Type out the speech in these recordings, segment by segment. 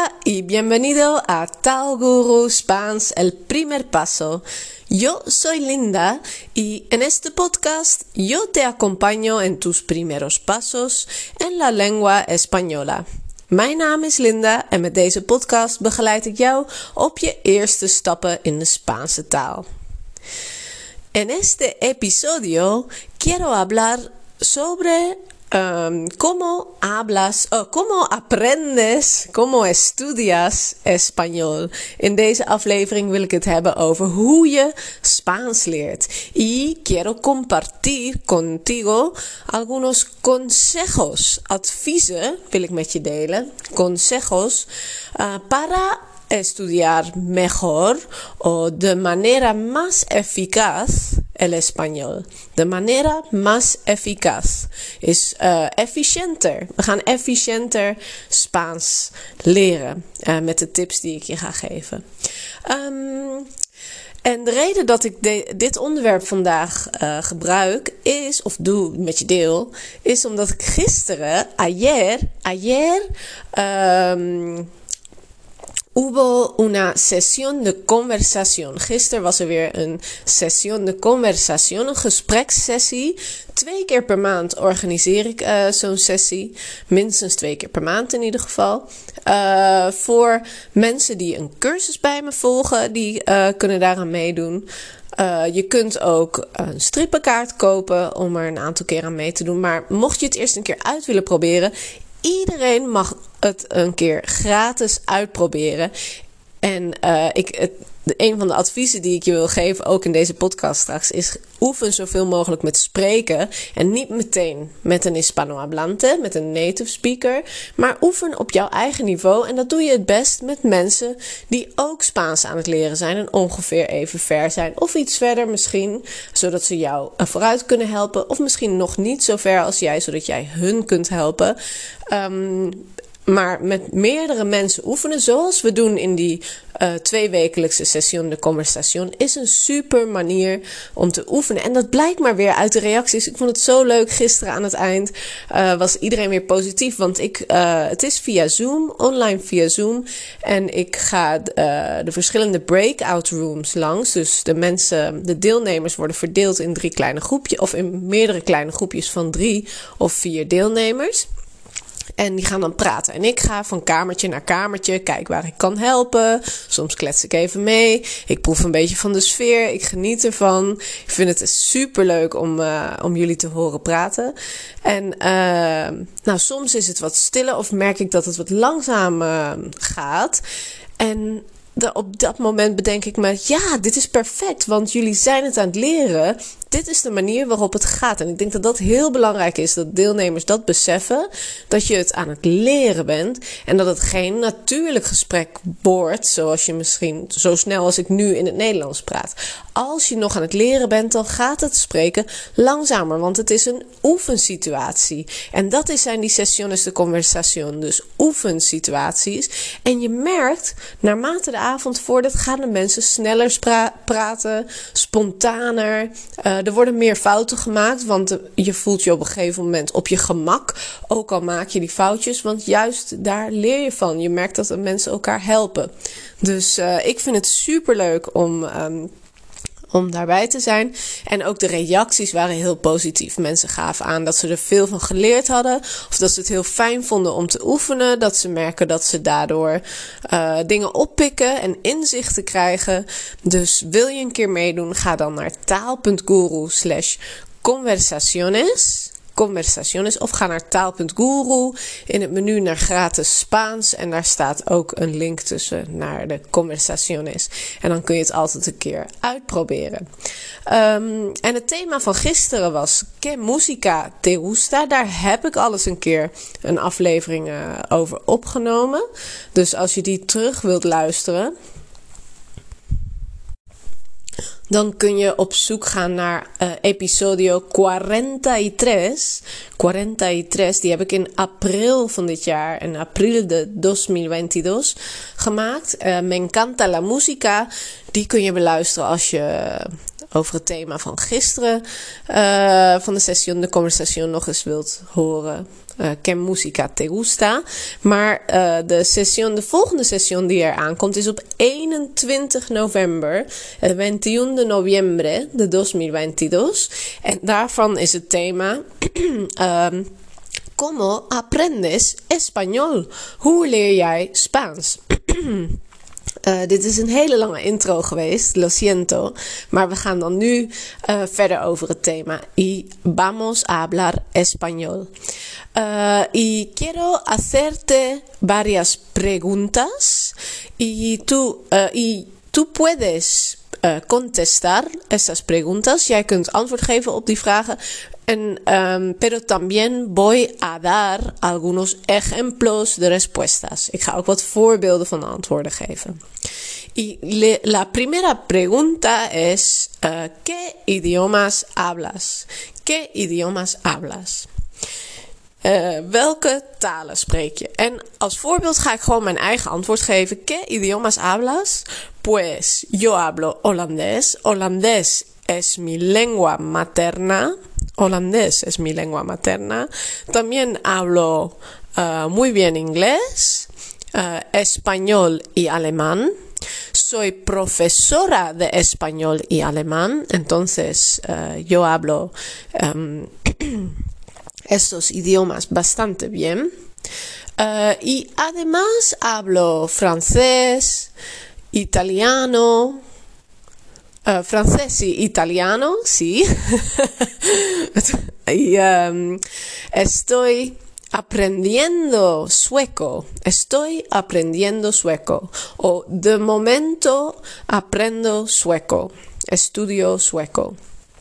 Hola y bienvenido a Tal Guru Spans El Primer Paso. Yo soy Linda y en este podcast yo te acompaño en tus primeros pasos en la lengua española. Mijn naam is Linda en met deze podcast begeleid ik jou op je eerste stappen in de Spaanse taal. En este episodio quiero hablar sobre cómo estudias español. In deze aflevering wil ik het hebben over hoe je Spaans leert. Y quiero compartir contigo algunos consejos, adviezen wil ik met je delen. Consejos para estudiar mejor o de manera más eficaz el español. De manera más eficaz is efficiënter. We gaan efficiënter Spaans leren met de tips die ik je ga geven. En de reden dat ik dit onderwerp vandaag gebruik is, of doe met je deel, is omdat ik gisteren, ayer, hubo una sesión de conversación. Gisteren was er weer een sesión de conversación, een gesprekssessie. 2 keer per maand organiseer ik zo'n sessie. Minstens 2 keer per maand in ieder geval. Voor mensen die een cursus bij me volgen, die kunnen daaraan meedoen. Je kunt ook een strippenkaart kopen om er een aantal keer aan mee te doen. Maar mocht je het eerst een keer uit willen proberen, iedereen mag het een keer gratis uitproberen. En een van de adviezen die ik je wil geven, ook in deze podcast straks, is oefen zoveel mogelijk met spreken. En niet meteen met een Hispanohablante, met een native speaker. Maar oefen op jouw eigen niveau. En dat doe je het best met mensen die ook Spaans aan het leren zijn. En ongeveer even ver zijn. Of iets verder misschien, zodat ze jou vooruit kunnen helpen. Of misschien nog niet zo ver als jij, zodat jij hun kunt helpen. Maar met meerdere mensen oefenen, zoals we doen in die 2-wekelijkse session de conversación, is een super manier om te oefenen. En dat blijkt maar weer uit de reacties. Ik vond het zo leuk. Gisteren aan het eind was iedereen weer positief. Want het is via Zoom, online via Zoom. En ik ga de verschillende breakout rooms langs. Dus de deelnemers worden verdeeld in 3 kleine groepjes. Of in meerdere kleine groepjes van 3 of 4 deelnemers. En die gaan dan praten. En ik ga van kamertje naar kamertje, kijk waar ik kan helpen. Soms klets ik even mee. Ik proef een beetje van de sfeer. Ik geniet ervan. Ik vind het superleuk om jullie te horen praten. En soms is het wat stiller of merk ik dat het wat langzaam gaat. En op dat moment bedenk ik me, ja, dit is perfect, want jullie zijn het aan het leren. Dit is de manier waarop het gaat. En ik denk dat dat heel belangrijk is, dat deelnemers dat beseffen, dat je het aan het leren bent en dat het geen natuurlijk gesprek wordt, zoals je misschien zo snel als ik nu in het Nederlands praat. Als je nog aan het leren bent, dan gaat het spreken langzamer, want het is een oefensituatie. En dat zijn die sesiones de conversación, dus oefensituaties. En je merkt, naarmate de avond vordert, gaan de mensen sneller praten, spontaner. Er worden meer fouten gemaakt, want je voelt je op een gegeven moment op je gemak. Ook al maak je die foutjes, want juist daar leer je van. Je merkt dat de mensen elkaar helpen. Dus ik vind het superleuk om daarbij te zijn. En ook de reacties waren heel positief. Mensen gaven aan dat ze er veel van geleerd hadden. Of dat ze het heel fijn vonden om te oefenen. Dat ze merken dat ze daardoor dingen oppikken en inzichten krijgen. Dus wil je een keer meedoen, ga dan naar taal.guru/conversaciones. Of ga naar taal.guru, in het menu naar gratis Spaans en daar staat ook een link tussen naar de conversaciones. En dan kun je het altijd een keer uitproberen. En het thema van gisteren was ¿Qué música te gusta? Daar heb ik al eens een keer een aflevering over opgenomen. Dus als je die terug wilt luisteren, dan kun je op zoek gaan naar episodio 43. 43, die heb ik in april van dit jaar, in april de 2022, gemaakt. Me encanta la música. Die kun je beluisteren als je over het thema van gisteren van de session de conversación nog eens wilt horen. ¿Qué música te gusta? Maar de volgende session die er aankomt is op 21 november, el 21 de noviembre de 2022. En daarvan is het thema ¿Cómo aprendes español? Hoe leer jij Spaans? Dit is een hele lange intro geweest, lo siento. Maar we gaan dan nu verder over het thema. Y vamos a hablar español. Y quiero hacerte varias preguntas. Y tú puedes contestar esas preguntas. Jij kunt antwoord geven op die vragen. Pero también voy a dar algunos ejemplos de respuestas. Ik ga ook wat voorbeelden van de antwoorden geven. Y la primera pregunta es, ¿qué idiomas hablas? ¿Qué idiomas hablas? Welke talen spreek je? En als voorbeeld ga ik gewoon mijn eigen antwoord geven. ¿Qué idiomas hablas? Pues yo hablo holandés. Holandés es mi lengua materna. Holandés es mi lengua materna. También hablo muy bien inglés, español y alemán. Soy profesora de español y alemán, entonces yo hablo estos idiomas bastante bien. Y además hablo francés, italiano. Francés y italiano, sí. Y estoy aprendiendo sueco. O de momento aprendo sueco. Estudio sueco.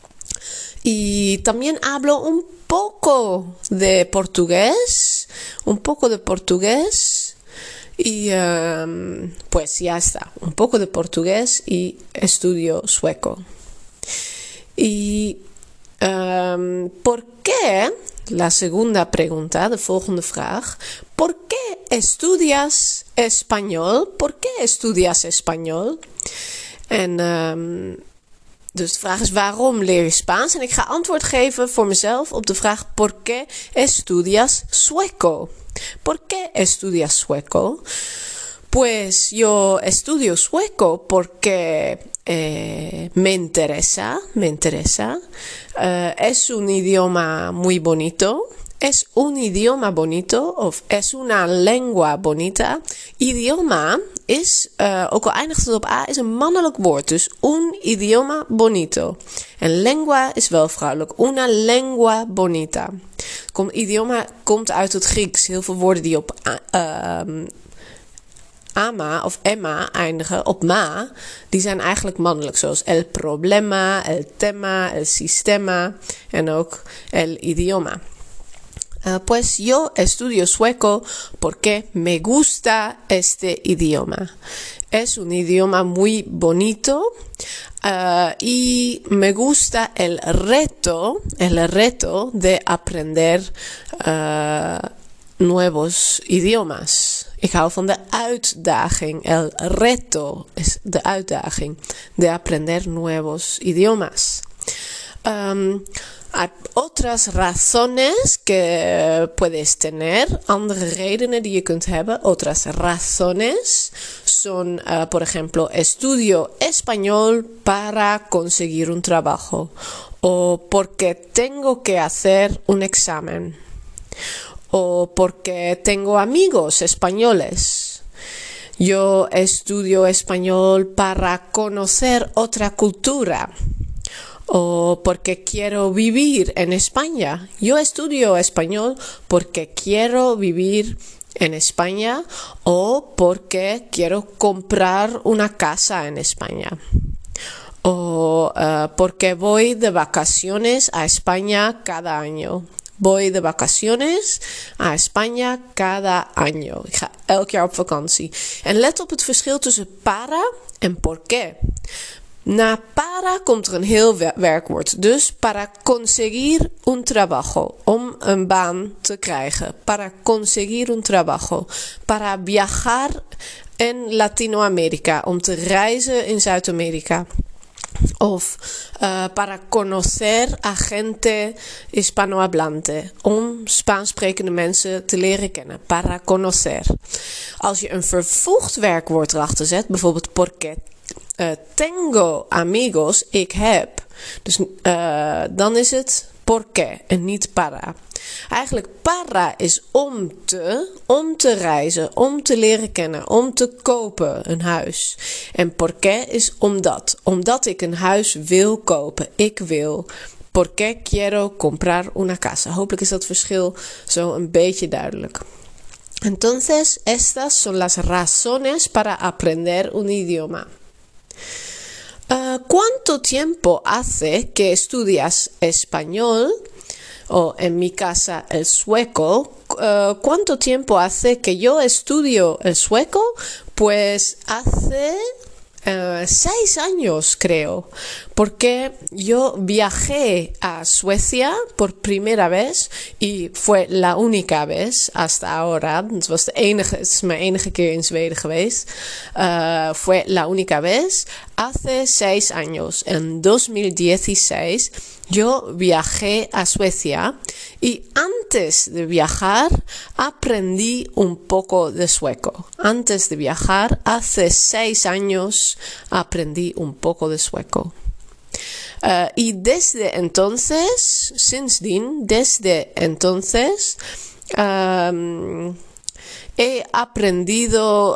Y también hablo un poco de portugués. Y pues ya está, un poco de portugués y estudio sueco. Y ¿por qué? La segunda pregunta, de volgende vraag. ¿Por qué estudias español? ¿Por qué estudias español? En dus de vraag is, waarom leer je Spaans? En ik ga antwoord geven voor mezelf op de vraag, ¿por qué estudias sueco? ¿Por qué estudias sueco? Pues yo estudio sueco porque me interesa. Es un idioma muy bonito. Es un idioma bonito of es una lengua bonita. Idioma is, ook al eindigt het op A, is een mannelijk woord. Dus un idioma bonito. En lengua is wel vrouwelijk. Una lengua bonita. Idioma komt uit het Grieks. Heel veel woorden die op ama of emma eindigen, op ma, die zijn eigenlijk mannelijk. Zoals el problema, el tema, el sistema en ook el idioma. Pues yo estudio sueco porque me gusta este idioma. Es un idioma muy bonito y me gusta el reto de aprender nuevos idiomas. Ik hou van de uitdaging. El reto is de uitdaging de aprender nuevos idiomas. Hay otras razones que puedes tener, andere redenen die je kunt hebben. Otras razones son, por ejemplo, estudio español para conseguir un trabajo o porque tengo que hacer un examen o porque tengo amigos españoles. Yo estudio español para conocer otra cultura. O porque quiero vivir en España. Yo estudio español porque quiero vivir en España o porque quiero comprar una casa en España. O porque voy de vacaciones a España cada año. Voy de vacaciones a España cada año. Ik ga elk jaar op vakantie. En let op het verschil tussen para en por qué. Na para komt er een heel werkwoord. Dus para conseguir un trabajo. Om een baan te krijgen. Para conseguir un trabajo. Para viajar en Latinoamerica. Om te reizen in Zuid-Amerika. Of para conocer a gente hispanohablante. Om Spaans sprekende mensen te leren kennen. Para conocer. Als je een vervoegd werkwoord erachter zet, bijvoorbeeld porque tengo amigos, ik heb. Dus dan is het porque en niet para. Eigenlijk para is om te reizen, om te leren kennen, om te kopen een huis. En porque is omdat ik een huis wil kopen. Ik wil. Porque quiero comprar una casa. Hopelijk is dat verschil zo een beetje duidelijk. Entonces, estas son las razones para aprender un idioma. ¿Cuánto tiempo hace que estudias español? O en mi casa el sueco. ¿Cuánto tiempo hace que yo estudio el sueco? Pues hace 6 años, creo. Porque yo viajé a Suecia por primera vez. Y fue la única vez hasta ahora. Het is mijn enige keer in Zweden geweest. Fue la única vez. Hace 6 años. En 2016 yo viajé a Suecia. Y antes de viajar aprendí un poco de sueco. Antes de viajar, hace 6 años, aprendí un poco de sueco. Y desde entonces, desde entonces, he aprendido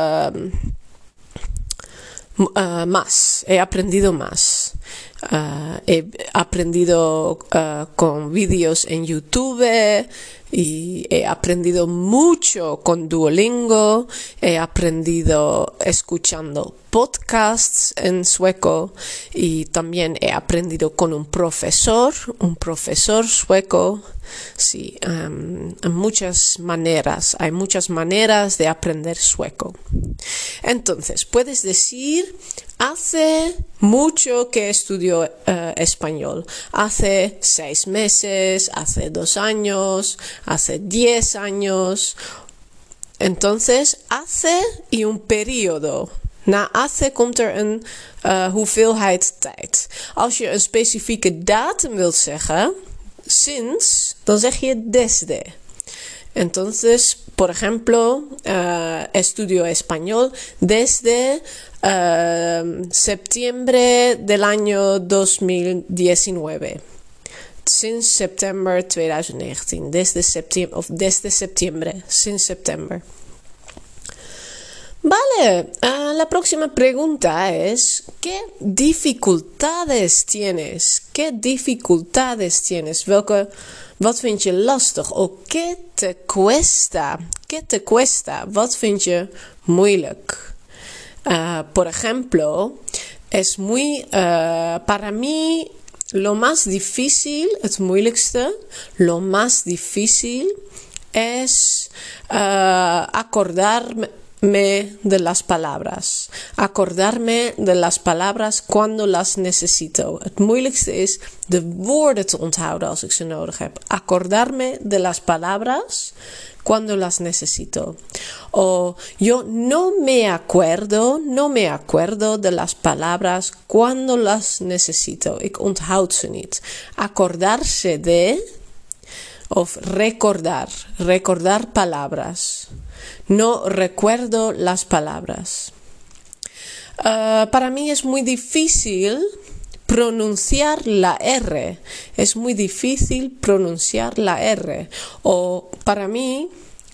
más. He aprendido más. He aprendido con vídeos en YouTube y he aprendido mucho con Duolingo. He aprendido escuchando podcasts en sueco y también he aprendido con un profesor sueco. Sí, hay muchas maneras de aprender sueco. Entonces, puedes decir, hace mucho que estudio español. Hace 6 meses, hace 2 años, hace 10 años. Entonces, hace y un periodo. Na hace komt een hoeveelheid tijd. Als je een specifieke datum wilt zeggen, sinds, dan zeg je desde. Entonces, por ejemplo, estudio español desde septiembre del año 2019. Sinds september 2019. Desde septiembre. Sinds september. Vale, la próxima pregunta es, ¿qué dificultades tienes? ¿Qué dificultades tienes? Wat vind je lastig? O ¿qué te cuesta? ¿Qué te cuesta? Wat vind je moeilijk? Por ejemplo, es muy, para mí, lo más difícil, het moeilijkste, lo más difícil es acordarme de las palabras. Acordarme de las palabras cuando las necesito. Het moeilijkste is de woorden te onthouden als ik ze nodig heb. Acordarme de las palabras cuando las necesito. O yo no me acuerdo de las palabras cuando las necesito. Ik onthoud ze niet. Acordarse de of recordar palabras. No recuerdo las palabras. Para mí es muy difícil pronunciar la R. Es muy difícil pronunciar la R. O para mí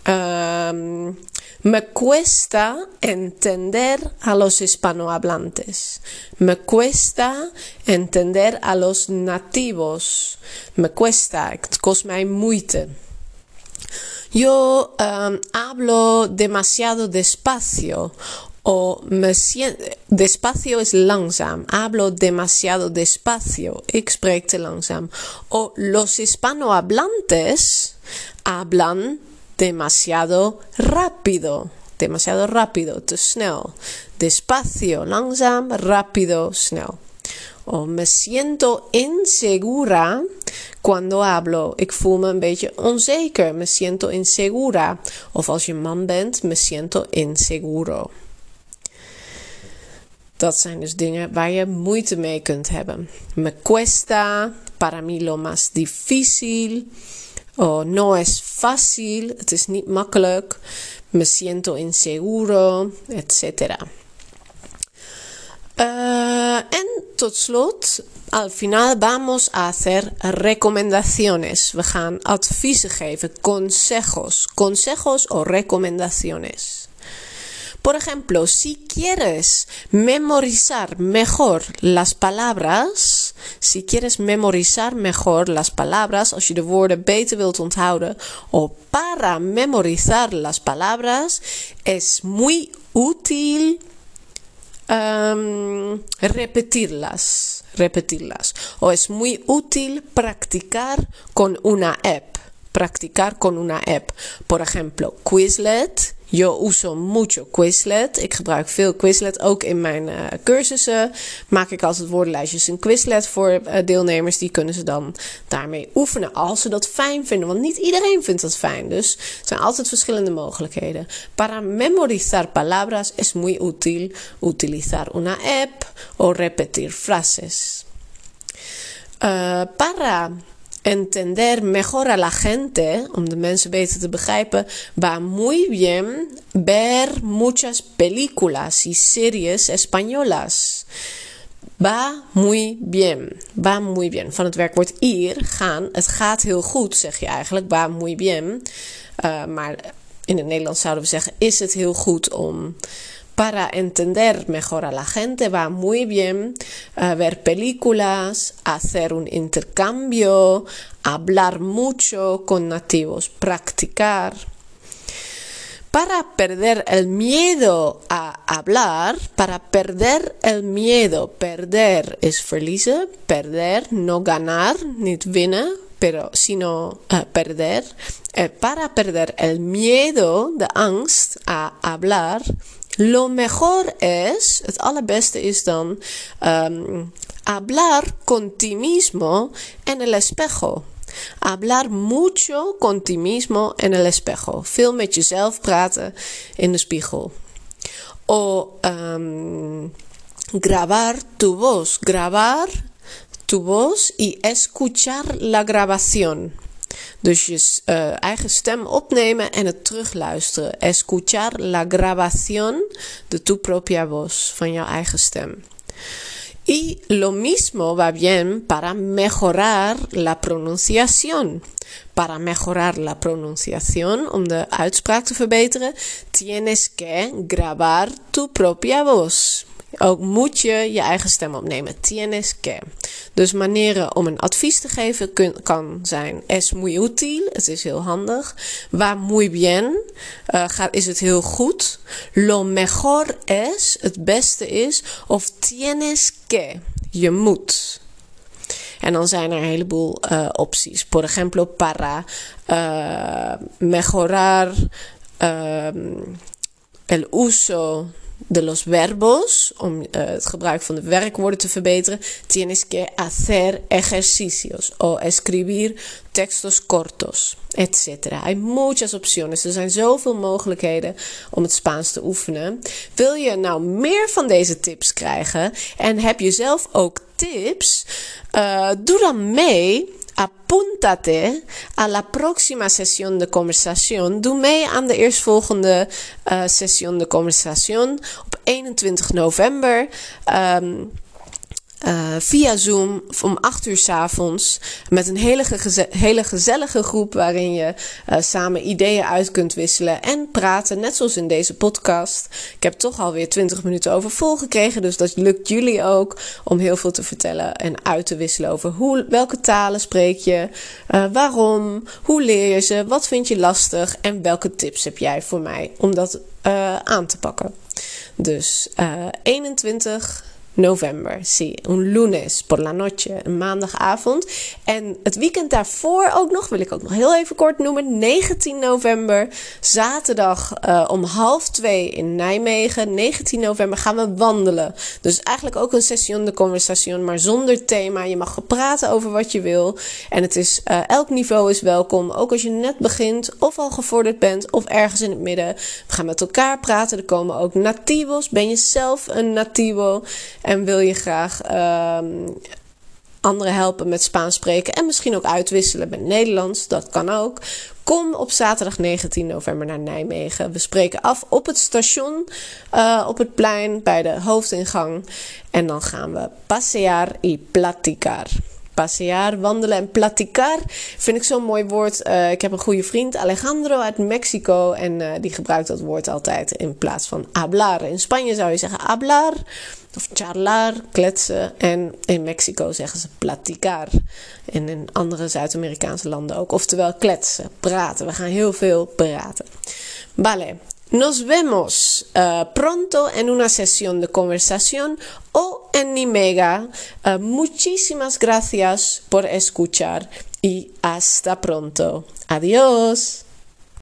me cuesta entender a los hispanohablantes. Me cuesta entender a los nativos. Me cuesta, het kost mij moeite. Yo hablo demasiado despacio. O despacio is langzaam. Hablo demasiado despacio. Ik spreek te langzaam. O los hispanohablantes hablan demasiado rápido. Demasiado rápido, te snel. Despacio, langzaam, rápido, snel. O me siento insegura cuando hablo. Ik voel me een beetje onzeker. Me siento insegura. Of als je man bent, me siento inseguro. Dat zijn dus dingen waar je moeite mee kunt hebben. Me cuesta, para mí lo más difícil, o no es fácil, het is niet makkelijk, me siento inseguro, etc. En tot slot, al final vamos a hacer recomendaciones. We gaan adviezen geven, consejos o recomendaciones. Por ejemplo, si quieres memorizar mejor las palabras, als je de woorden beter wilt onthouden, o para memorizar las palabras, es muy útil repetirlas. O es muy útil practicar con una app. Por ejemplo, Quizlet. Yo uso mucho Quizlet. Ik gebruik veel Quizlet. Ook in mijn cursussen maak ik altijd woordenlijstjes in Quizlet voor deelnemers. Die kunnen ze dan daarmee oefenen als ze dat fijn vinden. Want niet iedereen vindt dat fijn. Dus er zijn altijd verschillende mogelijkheden. Para memorizar palabras es muy útil utilizar una app o repetir frases. Para entender mejor a la gente, om de mensen beter te begrijpen, va muy bien ver muchas películas y series españolas. Va muy bien. Van het werkwoord ir, gaan. Het gaat heel goed, zeg je eigenlijk. Va muy bien. Maar in het Nederlands zouden we zeggen, is het heel goed om... Para entender mejor a la gente va muy bien ver películas, hacer un intercambio, hablar mucho con nativos, practicar. Para perder el miedo a hablar, perder is verliezen, perder, no ganar, niet winnen, sino perder. Para perder el miedo, de angst a hablar, lo mejor es, het allerbeste is dan, hablar con ti mismo en el espejo. Hablar mucho con ti mismo en el espejo. Veel met jezelf praten in de spiegel. O grabar tu voz. Grabar tu voz y escuchar la grabación. Dus je eigen stem opnemen en het terugluisteren. Escuchar la grabación de tu propia voz. Van jouw eigen stem. Y lo mismo va bien para mejorar la pronunciación. Para mejorar la pronunciación, om de uitspraak te verbeteren, tienes que grabar tu propia voz. Ook moet je je eigen stem opnemen. Tienes que. Dus manieren om een advies te geven kan zijn. Es muy útil. Het is heel handig. Va muy bien. Is het heel goed. Lo mejor es. Het beste is. Of tienes que. Je moet. En dan zijn er een heleboel opties. Por ejemplo, para mejorar el uso de los verbos, om het gebruik van de werkwoorden te verbeteren, tienes que hacer ejercicios o escribir textos cortos, etc. Hay muchas opciones. Er zijn zoveel mogelijkheden om het Spaans te oefenen. Wil je nou meer van deze tips krijgen en heb je zelf ook tips? Doe dan mee. Apúntate a la próxima sesión de conversación. Doe mee aan de eerstvolgende session de conversación op 21 november. Via Zoom om 8 uur 's avonds met een hele gezellige groep waarin je samen ideeën uit kunt wisselen en praten, net zoals in deze podcast. Ik heb toch alweer 20 minuten over vol gekregen, dus dat lukt jullie ook om heel veel te vertellen en uit te wisselen over welke talen spreek je, waarom, hoe leer je ze, wat vind je lastig en welke tips heb jij voor mij om dat aan te pakken. Dus 21 november. Sí, un lunes por la noche, een maandagavond. En het weekend daarvoor ook nog, wil ik ook nog heel even kort noemen, 19 november, zaterdag om 1:30 in Nijmegen. 19 november gaan we wandelen. Dus eigenlijk ook een session de conversation, maar zonder thema. Je mag praten over wat je wil. En het is, elk niveau is welkom. Ook als je net begint of al gevorderd bent of ergens in het midden. We gaan met elkaar praten. Er komen ook nativos. Ben je zelf een nativo en wil je graag anderen helpen met Spaans spreken en misschien ook uitwisselen met Nederlands, dat kan ook. Kom op zaterdag 19 november naar Nijmegen. We spreken af op het station, op het plein, bij de hoofdingang. En dan gaan we pasear y platicar. Pasear, wandelen en platicar vind ik zo'n mooi woord. Ik heb een goede vriend, Alejandro uit Mexico. En die gebruikt dat woord altijd in plaats van hablar. In Spanje zou je zeggen hablar of charlar, kletsen. En in Mexico zeggen ze platicar. En in andere Zuid-Amerikaanse landen ook. Oftewel kletsen, praten. We gaan heel veel praten. Vale. Nos vemos pronto en una sesión de conversación o en Nimega. Muchísimas gracias por escuchar y hasta pronto. Adiós.